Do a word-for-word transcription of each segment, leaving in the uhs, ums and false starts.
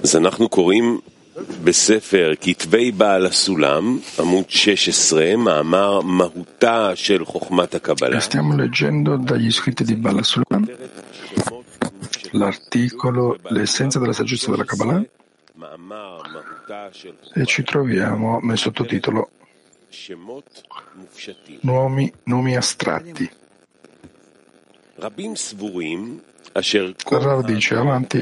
אז אנחנו קוראים בספר כתבי בעל הסולם, עמוד שש עשרה, מאמר מהותה של חוכמת הקבלה. Stiamo leggendo dagli scritti di Baal HaSulam l'articolo L'essenza della saggezza della Kabbalah e ci troviamo nel sottotitolo Nomi, nomi astratti. Rav dice avanti,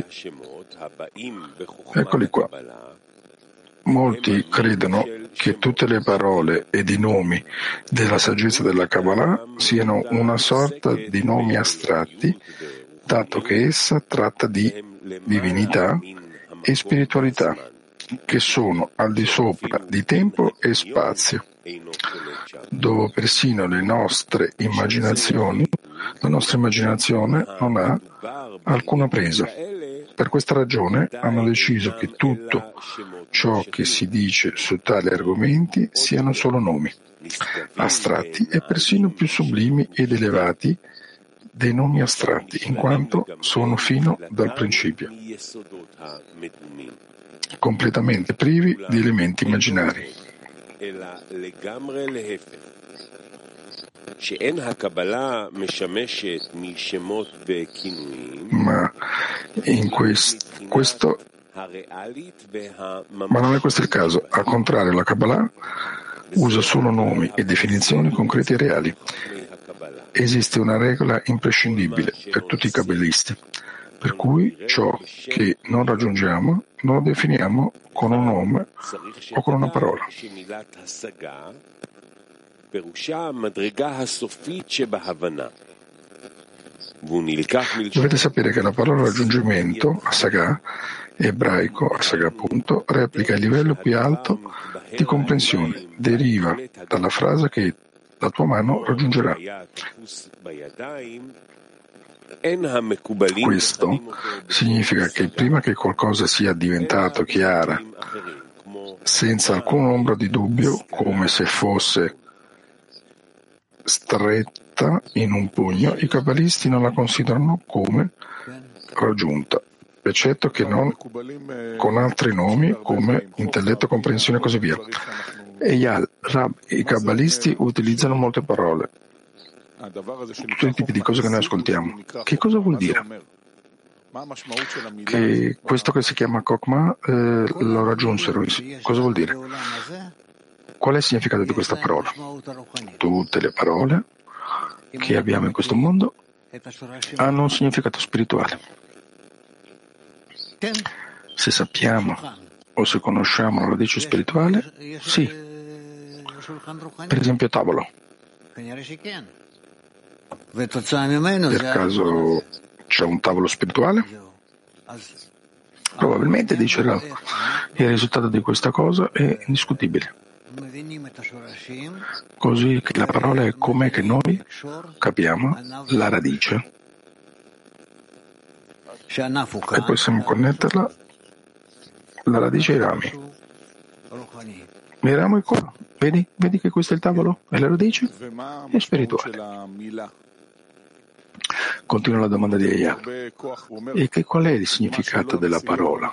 eccoli qua. Molti credono che tutte le parole ed i nomi della saggezza della Kabbalah siano una sorta di nomi astratti, dato che essa tratta di divinità e spiritualità, che sono al di sopra di tempo e spazio, dove persino le nostre immaginazioni, la nostra immaginazione non ha alcuna presa. Per questa ragione hanno deciso che tutto ciò che si dice su tali argomenti siano solo nomi astratti e persino più sublimi ed elevati dei nomi astratti, in quanto sono fino dal principio, completamente privi di elementi immaginari. Ma in quest, questo ma non è questo il caso. Al contrario, la Kabbalah usa solo nomi e definizioni concreti e reali. Esiste una regola imprescindibile per tutti i kabbalisti, per cui ciò che non raggiungiamo non lo definiamo con un nome o con una parola. Dovete sapere che la parola raggiungimento, asagà, ebraico, asagà appunto, replica il livello più alto di comprensione, deriva dalla frase che la tua mano raggiungerà. Questo significa che prima che qualcosa sia diventato chiara, senza alcun ombra di dubbio, come se fosse stretta in un pugno, i kabbalisti non la considerano come raggiunta, eccetto che non con altri nomi come intelletto, comprensione e così via. E gli Rab, i kabbalisti utilizzano molte parole, tutti i tipi di cose che noi ascoltiamo. Che cosa vuol dire? Che questo che si chiama Kokma eh, lo raggiunsero. Cosa vuol dire? Qual è il significato di questa parola? Tutte le parole che abbiamo in questo mondo hanno un significato spirituale. Se sappiamo o se conosciamo la radice spirituale, sì. Per esempio tavolo. Per caso c'è un tavolo spirituale? Probabilmente, dice Rav, il risultato di questa cosa è indiscutibile. Così che la parola è come che noi capiamo la radice e possiamo connetterla, la radice ai rami. I rami qua, vedi? Vedi che questo è il tavolo? E la radice è spirituale. Continua la domanda di Eyal. E che qual è il significato della parola?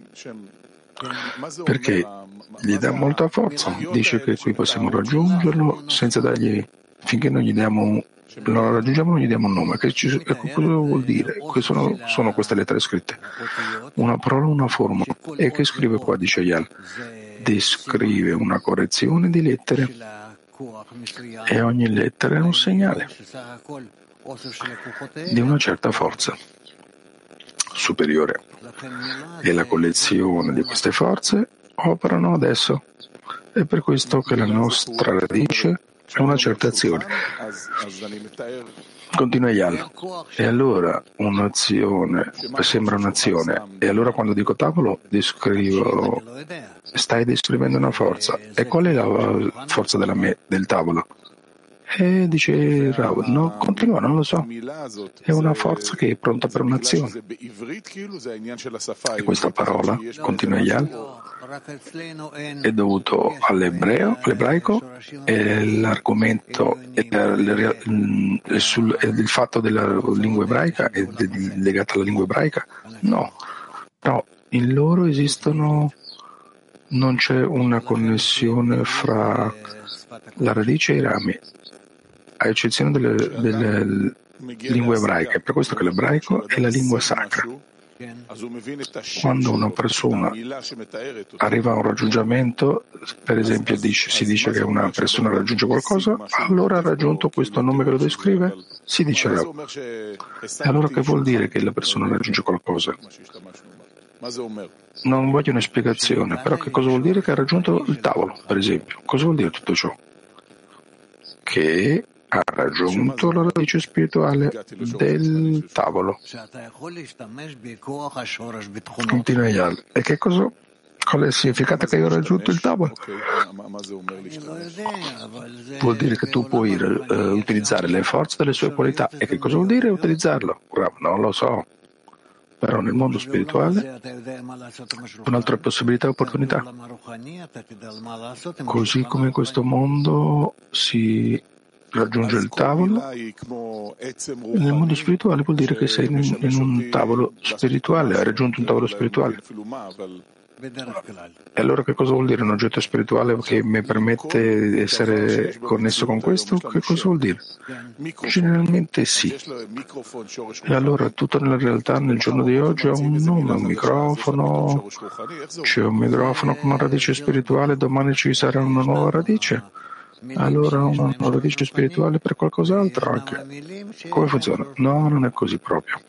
Perché gli dà molta forza. Dice che qui possiamo raggiungerlo senza dargli, finché non gli diamo un, non lo raggiungiamo non gli diamo un nome. Che ci, ecco, cosa vuol dire? Che sono, sono queste lettere scritte. Una parola, una forma. E che scrive qua, dice Eyal? Descrive una correzione di lettere. E ogni lettera è un segnale di una certa forza superiore, e la collezione di queste forze operano adesso. È per questo che la nostra radice è una certa azione. Continua Eyal. E allora un'azione sembra un'azione, e allora quando dico tavolo descrivo, stai descrivendo una forza. E qual è la forza della me, del tavolo? E dice Rav, no, continua, non lo so. È una forza che è pronta per un'azione. E questa parola, continua Eyal, è dovuto all'ebreo, all'ebraico, e l'argomento è il fatto della lingua ebraica è legato alla lingua ebraica? No. No, in loro esistono, non c'è una connessione fra la radice e i rami, a eccezione delle, delle lingue ebraiche. Per questo che l'ebraico è la lingua sacra. Quando una persona arriva a un raggiungimento, per esempio dice, si dice che una persona raggiunge qualcosa, allora ha raggiunto questo nome che lo descrive, si dice Rav. E allora che vuol dire che la persona raggiunge qualcosa? Non voglio una spiegazione, però che cosa vuol dire che ha raggiunto il tavolo, per esempio? Cosa vuol dire tutto ciò? Che ha raggiunto la radice spirituale del tavolo. Continua Eyal. E che cosa? Qual è il significato che io ho raggiunto il tavolo? Vuol dire che tu puoi uh, utilizzare le forze delle sue qualità. E che cosa vuol dire utilizzarlo? Non lo so. Però nel mondo spirituale un'altra possibilità e opportunità. Così come in questo mondo si raggiunge il tavolo, nel mondo spirituale vuol dire che sei in, in un tavolo spirituale, hai raggiunto un tavolo spirituale. E allora che cosa vuol dire un oggetto spirituale che mi permette di essere connesso con questo? Che cosa vuol dire? Generalmente sì. E allora tutto nella realtà nel giorno di oggi ha un nome, un microfono, c'è un microfono con una radice spirituale, domani ci sarà una nuova radice. Allora una nuova radice spirituale per qualcos'altro anche. Come funziona? No, non è così proprio.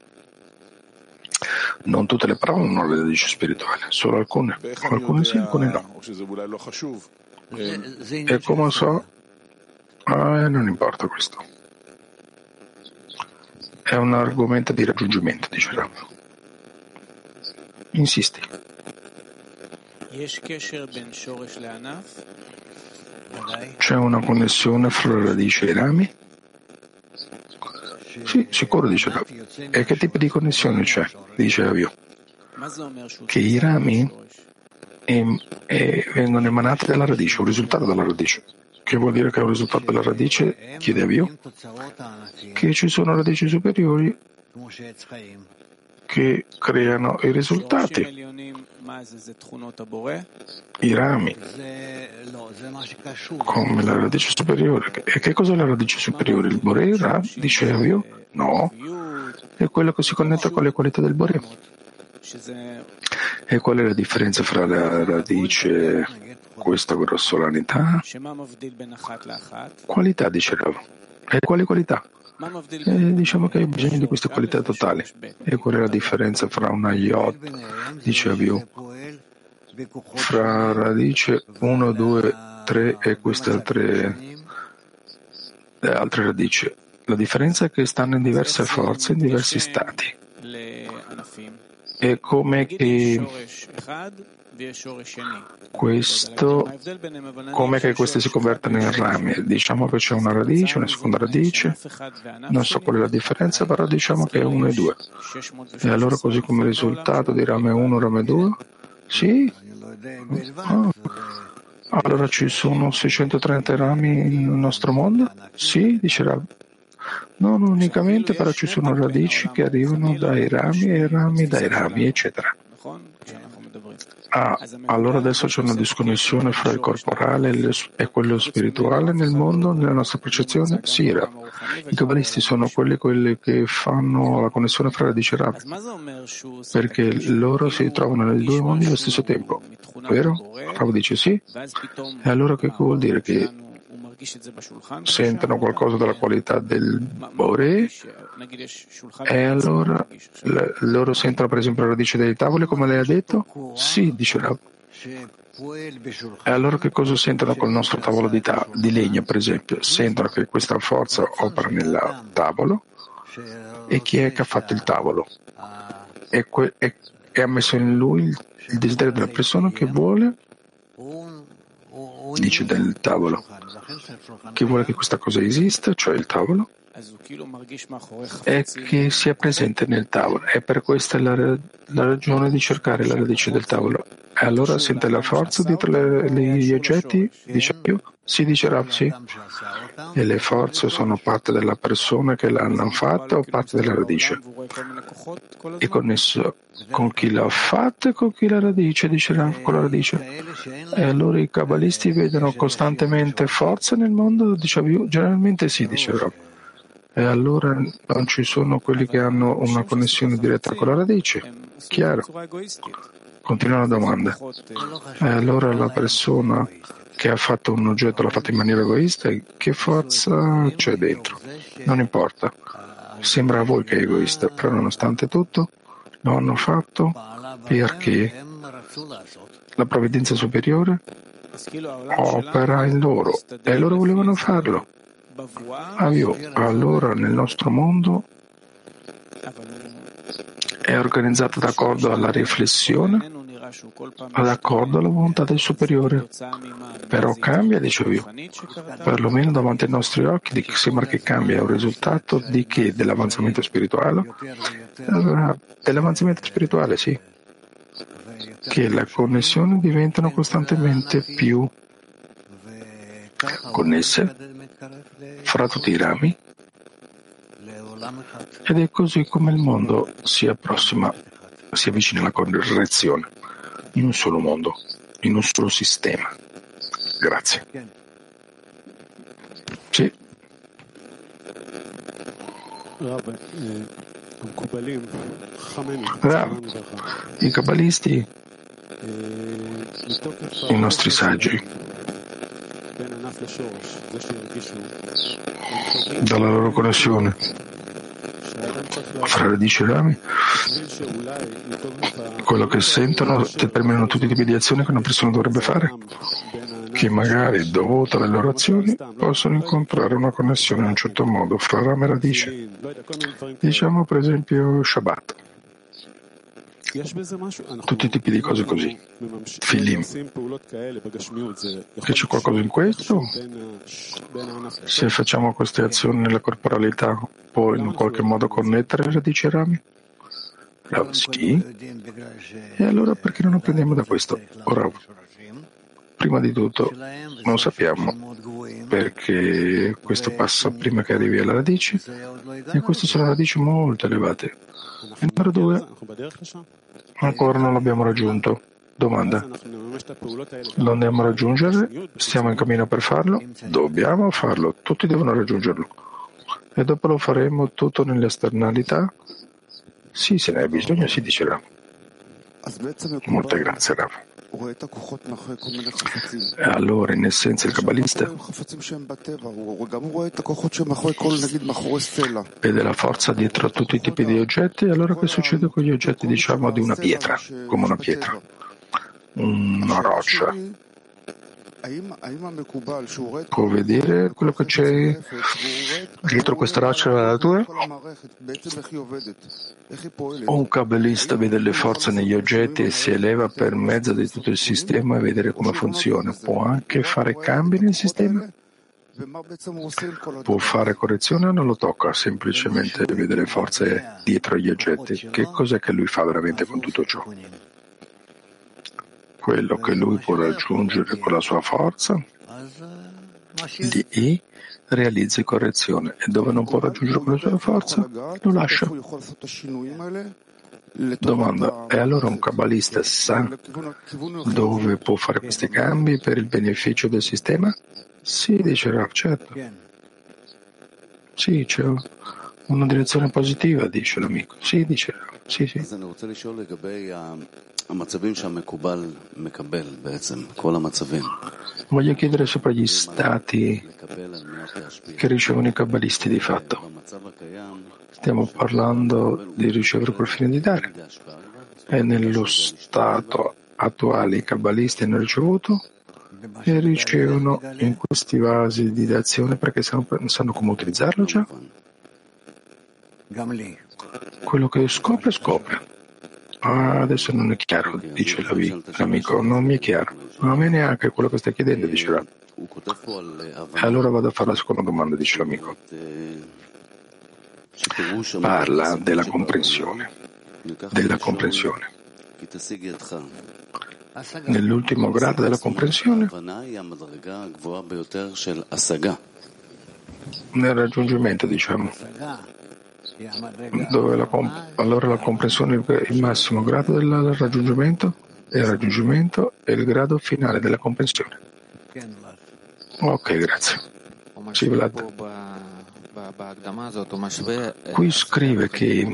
Non tutte le parole hanno una radice spirituale, solo alcune. Alcune sì, alcune no. E come so? Ah, non importa questo. È un argomento di raggiungimento, dice Rav. Insisti. C'è una connessione fra la radice e i rami? Sì, sicuro, dice Rav. E che tipo di connessione c'è? Dice Avio. Che i rami em, eh, vengono emanati dalla radice, un risultato dalla radice. Che vuol dire che è un risultato della radice? Chiede Avio. Che ci sono radici superiori che creano i risultati. I rami, come la radice superiore. E che cos'è la radice superiore? Il Borei, Rav? Dice Avio? No, è quello che si connette con le qualità del Borei. E qual è la differenza fra la radice, questa grossolanità? Qualità, dice Rav. E quali qualità? E diciamo che hai bisogno di queste qualità totali. E qual è la differenza fra una iot, dice Avio, fra radice uno, due, tre e queste altre, le altre radici? La differenza è che stanno in diverse forze, in diversi stati. È come che questo, come che queste si convertono in rami. Diciamo che c'è una radice, una seconda radice, non so qual è la differenza, però diciamo che è uno e due. E allora così come risultato di rame uno, rame due? Sì? Oh. Allora ci sono seicentotrenta rami nel nostro mondo? Sì, dice Rav. Non unicamente, però ci sono radici che arrivano dai rami e rami dai rami, eccetera. Ah, allora adesso c'è una disconnessione fra il corporale e quello spirituale nel mondo, nella nostra percezione? Sì, Rav. I cabalisti sono quelli, quelli che fanno la connessione fra radici e rami, perché loro si trovano nei due mondi allo stesso tempo, vero? Rav dice sì. E allora che vuol dire? Che sentono qualcosa della qualità del Borei e allora le, loro sentono per esempio la radice dei tavoli come lei ha detto? Sì, dice Rav. E allora che cosa sentono col nostro tavolo di, ta- di legno per esempio? Sentono che questa forza opera nel tavolo e chi è che ha fatto il tavolo? E, que- e, e ha messo in lui il, il desiderio della persona che vuole, dice del tavolo, che vuole che questa cosa esista, cioè il tavolo, e che sia presente nel tavolo. E per questa è la, la ragione di cercare la radice del tavolo. E allora sente la forza dietro le, le, gli oggetti, dice io? Si dice Rav, sì. E le forze sono parte della persona che l'hanno fatta o parte della radice? È connesso con chi l'ha fatta e con chi la radice, dice Rav, con la radice. E allora i cabalisti vedono costantemente forze nel mondo? Dicevo io, generalmente sì, dice Rav. E allora non ci sono quelli che hanno una connessione diretta con la radice? Chiaro. Continua la domanda. E allora la persona che ha fatto un oggetto l'ha fatto in maniera egoista, che forza c'è dentro? Non importa. Sembra a voi che è egoista, però nonostante tutto lo hanno fatto perché la provvidenza superiore opera in loro e loro volevano farlo. Allora nel nostro mondo è organizzato d'accordo alla riflessione, d'accordo alla volontà del superiore. Però cambia, dicevo io, perlomeno davanti ai nostri occhi sembra che cambia, è un risultato di che? Dell'avanzamento spirituale? Dell'avanzamento spirituale, sì. Che le connessioni diventano costantemente più connesse fra tutti i rami ed è così come il mondo si approssima, si avvicina alla correzione in un solo mondo, in un solo sistema. Grazie. Sì. Rav, i cabalisti, i nostri saggi, dalla loro connessione fra radici e rami, quello che sentono determinano tutti i tipi di azioni che una persona dovrebbe fare, che magari, dovuto alle loro azioni, possono incontrare una connessione in un certo modo fra rame e radice. Diciamo per esempio Shabbat. Tutti i tipi di cose così. Filim. Che c'è qualcosa in questo? Se facciamo queste azioni nella corporalità, può in qualche modo connettere le radici e rami? Rav, sì. E allora perché non apprendiamo da questo? Ora, prima di tutto, non sappiamo perché questo passa prima che arrivi alla radice e queste sono radici molto elevate. E numero due, ancora non l'abbiamo raggiunto. Domanda: lo andiamo a raggiungere? Stiamo in cammino per farlo? Dobbiamo farlo, tutti devono raggiungerlo. E dopo lo faremo tutto nell'esternalità? Sì, se ne hai bisogno, si dicerà. Molte grazie, Rav. E allora, in essenza, il kabbalista vede la forza dietro a tutti i tipi di oggetti. E allora che succede con gli oggetti, diciamo, di una pietra, come una pietra, una roccia? Può vedere quello che c'è dietro questa roccia della natura? O un kabbalista vede le forze negli oggetti e si eleva per mezzo di tutto il sistema e vedere come funziona. Può anche fare cambi nel sistema? Può fare correzione o non lo tocca? Semplicemente vede le forze dietro gli oggetti. Che cos'è che lui fa veramente con tutto ciò? Quello che lui può raggiungere con la sua forza, lì realizza correzione, e dove non può raggiungere con la sua forza, lo lascia. Domanda: e allora un kabbalista sa dove può fare questi cambi per il beneficio del sistema? Sì, dice Rav, certo. Sì, c'è una direzione positiva, dice l'amico. Sì, dice Rav, sì, sì. Voglio chiedere sopra gli stati che ricevono i kabbalisti di fatto. Stiamo parlando di ricevere col fine di dare. E nello stato attuale i kabbalisti hanno ricevuto e ricevono in questi vasi di azione perché sanno, sanno come utilizzarlo già. Quello che scopre, scopre. Ah, adesso non è chiaro, dice l'amico, non mi è chiaro. Non a me neanche quello che stai chiedendo, dice Rav. E allora vado a fare la seconda domanda, dice l'amico. Parla della comprensione, della comprensione. nell'ultimo grado della comprensione, nel raggiungimento, diciamo, dove la comp- allora la comprensione è il massimo grado del raggiungimento, e il raggiungimento è il grado finale della comprensione. Ok, grazie. Sì, Vlad. Qui scrive che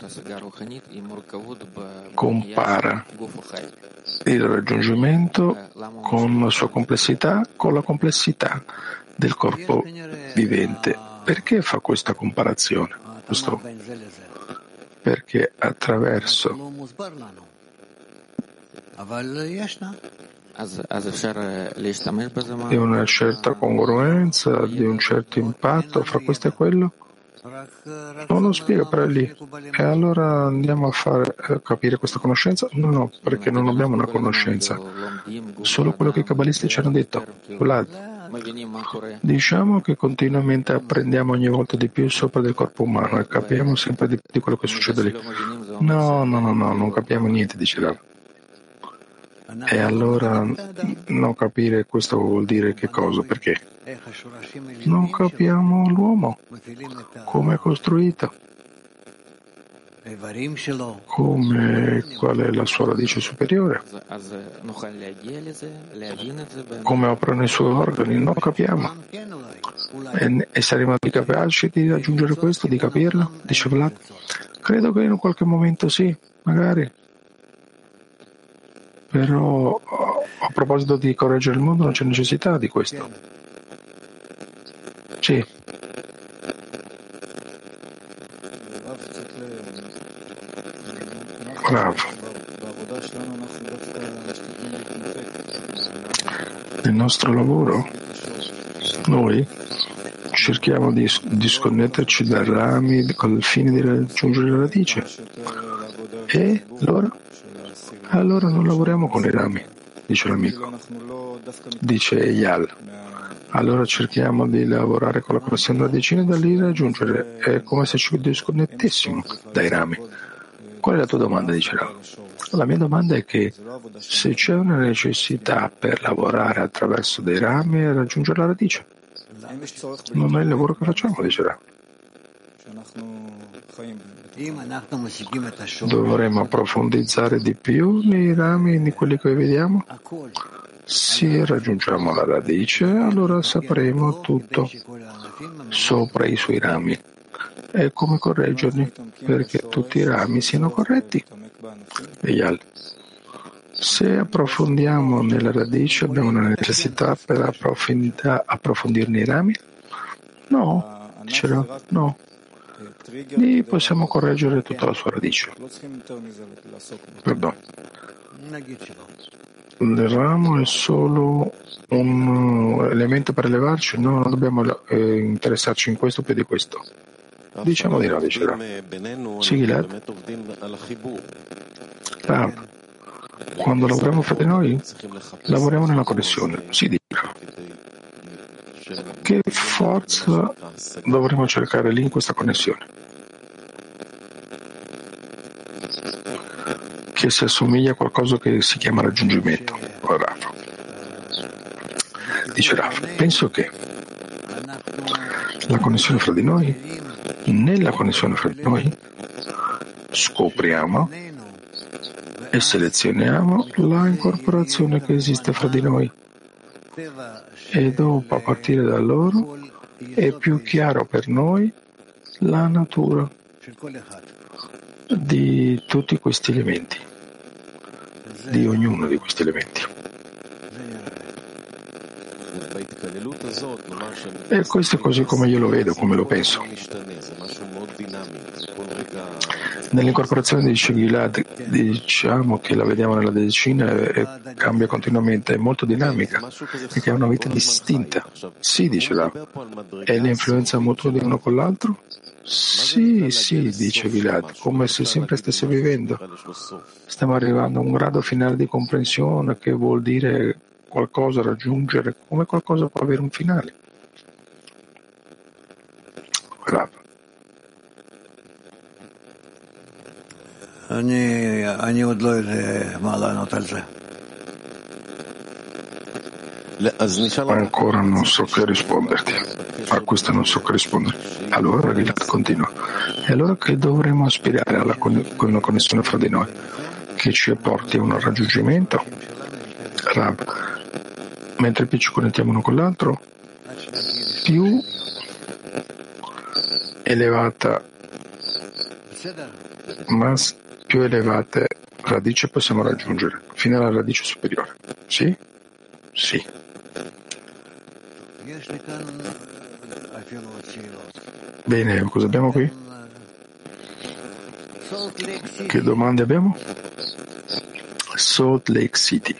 compara il raggiungimento con la sua complessità con la complessità del corpo vivente. Perché fa questa comparazione? Questo? Perché attraverso di una certa congruenza, di un certo impatto fra questo e quello? Non lo spiega per lì. E allora andiamo a fare a capire questa conoscenza? No, no, perché non abbiamo una conoscenza. Solo quello che i cabalisti ci hanno detto. Vlad, diciamo che continuamente apprendiamo ogni volta di più sopra del corpo umano e capiamo sempre di, di quello che succede lì. No, no, no, no, non capiamo niente, dice Rav. E allora non capire questo vuol dire che cosa? Perché non capiamo l'uomo, come è costruito, come, qual è la sua radice superiore, come operano i suoi organi, non capiamo. E, e saremo capaci di raggiungere questo, di capirlo? Dice Vlad. Credo che in un qualche momento sì, magari. Però a proposito di correggere il mondo non c'è necessità di questo. Sì. Bravo. Nel nostro lavoro noi cerchiamo di disconnetterci dai rami con il fine di raggiungere la radice. E allora? Allora non lavoriamo con i rami, dice l'amico. Dice Eyal. Allora cerchiamo di lavorare con la connessione radicina e da lì raggiungere. È come se ci disconnettessimo dai rami. Qual è la tua domanda? Dice Rav. La mia domanda è che se c'è una necessità per lavorare attraverso dei rami e raggiungere la radice, non è il lavoro che facciamo, dice Rav. Dovremmo approfondizzare di più nei rami di quelli che vediamo. Se raggiungiamo la radice, allora sapremo tutto sopra i suoi rami e come correggerli perché tutti i rami siano corretti. Eyal. Se approfondiamo nella radice, abbiamo una necessità per approfondirne i rami? No, dicevo, no. Lì possiamo correggere tutta la sua radice. Perdono. Il ramo è solo un elemento per elevarci? No, non dobbiamo eh, interessarci in questo più di questo. Diciamo di no, dice Sì, Gilad. Rav, quando lavoriamo fra di noi, lavoriamo nella connessione. Sì, dice. Che forza dovremmo cercare lì in questa connessione? Che si assomiglia a qualcosa che si chiama raggiungimento. Rav. Dice Rav, penso che la connessione fra di noi, nella connessione fra di noi, scopriamo e selezioniamo la incorporazione che esiste fra di noi. E dopo, a partire da loro, è più chiaro per noi la natura di tutti questi elementi, di ognuno di questi elementi. E questo è così come io lo vedo, come lo penso. Nell'incorporazione di Gilad diciamo che la vediamo nella decina e cambia continuamente, è molto dinamica perché ha una vita distinta. Sì, dice Rav. E l'influenza mutua di uno con l'altro? Sì, sì, dice Gilad, come se sempre stesse vivendo. Stiamo arrivando a un grado finale di comprensione che vuol dire qualcosa raggiungere, come qualcosa può avere un finale. Rav. אני, אני עוד לא יודע מה לענות על זה. Ancora non so che risponderti. A questo non so che rispondere. Allora Gilad continua. E allora che dovremmo aspirare alla con- con una connessione fra di noi che ci porti a un raggiungimento? Rav, mentre più ci connettiamo uno con l'altro, più elevata, ma più elevate radici possiamo raggiungere, fino alla radice superiore. Sì? Sì. Bene, cosa abbiamo qui? Che domande abbiamo? Salt Lake City.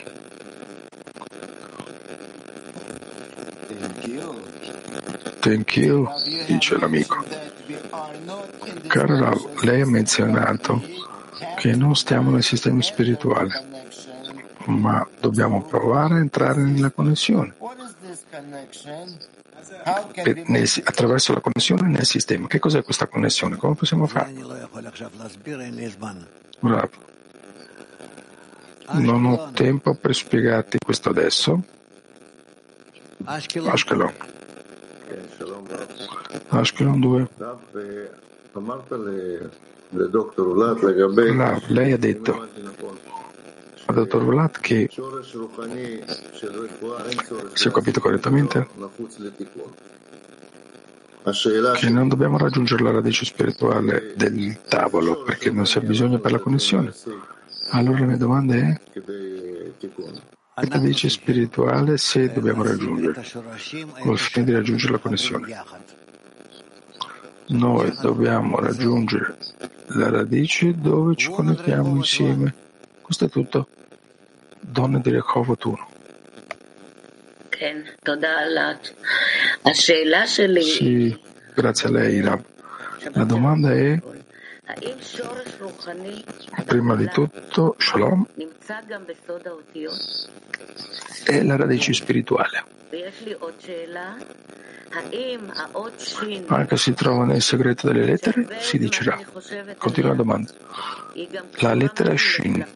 Thank you, dice l'amico. Caro Rav, lei ha menzionato che non stiamo nel sistema spirituale, ma dobbiamo provare a entrare nella connessione. Per, nel, attraverso la connessione nel sistema. Che cos'è questa connessione? Come possiamo farlo? Rav, non ho tempo per spiegarti questo adesso. Ashkelon. Ashkelon due. Rav, lei ha detto al dottor Vlad che, se ho capito correttamente, che non dobbiamo raggiungere la radice spirituale del tavolo perché non c'è bisogno per la connessione. Allora la mia domanda è: che radice spirituale se dobbiamo raggiungere col fine di raggiungere la connessione? Noi dobbiamo raggiungere la radice dove ci connettiamo insieme. Questo è tutto. Donna di Rehovot uno. Sì, grazie a lei, Rav. La domanda è, prima di tutto, Shalom, è la radice spirituale. Anche si trova nel segreto delle lettere? Si dicerà. Continua la domanda. La lettera Shin,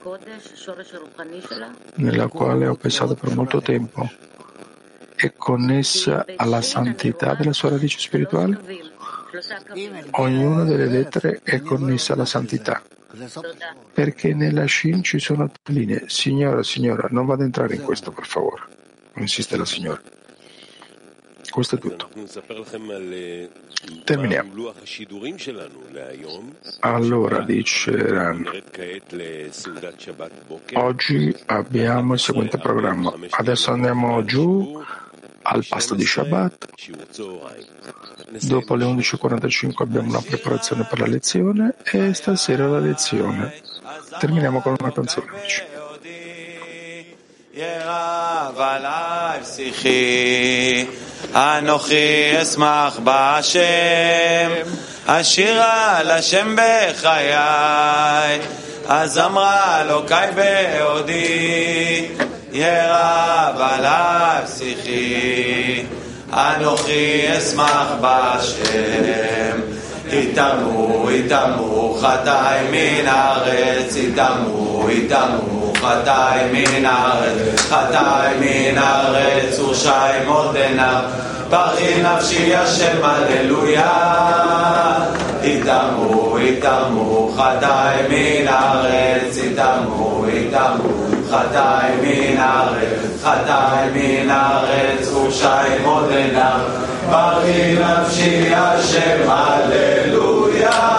nella quale ho pensato per molto tempo, è connessa alla santità della sua radice spirituale? Ognuna delle lettere è connessa alla santità, perché nella Shin ci sono linee. Signora, signora, non vado ad entrare in questo, per favore. Insiste la signora. Questo è tutto. Terminiamo. Allora, dice Ran, oggi abbiamo il seguente programma. Adesso andiamo giù al pasto di Shabbat. Dopo le undici e quarantacinque abbiamo una preparazione per la lezione e stasera la lezione. Terminiamo con una canzone. אנוכי אשמח בהשם, אשירה לשם בחיי, אז אמרה אלוקי בעודי, ירב עליי שיחי. אנוכי אשמח בהשם, יתמו יתמו חטאי מן הארץ, יתמו יתמו חטאי מן הארץ, חטאי מן הארץ ורשעים עוד עיניו, ברכי נפשי השם הללויה. יתמו יתמו חטאי מן הארץ, יתמו יתמו חטאי מן הארץ, חטאי מן הארץ ורשעים עוד עיניו, ברכי נפשי השם הללויה.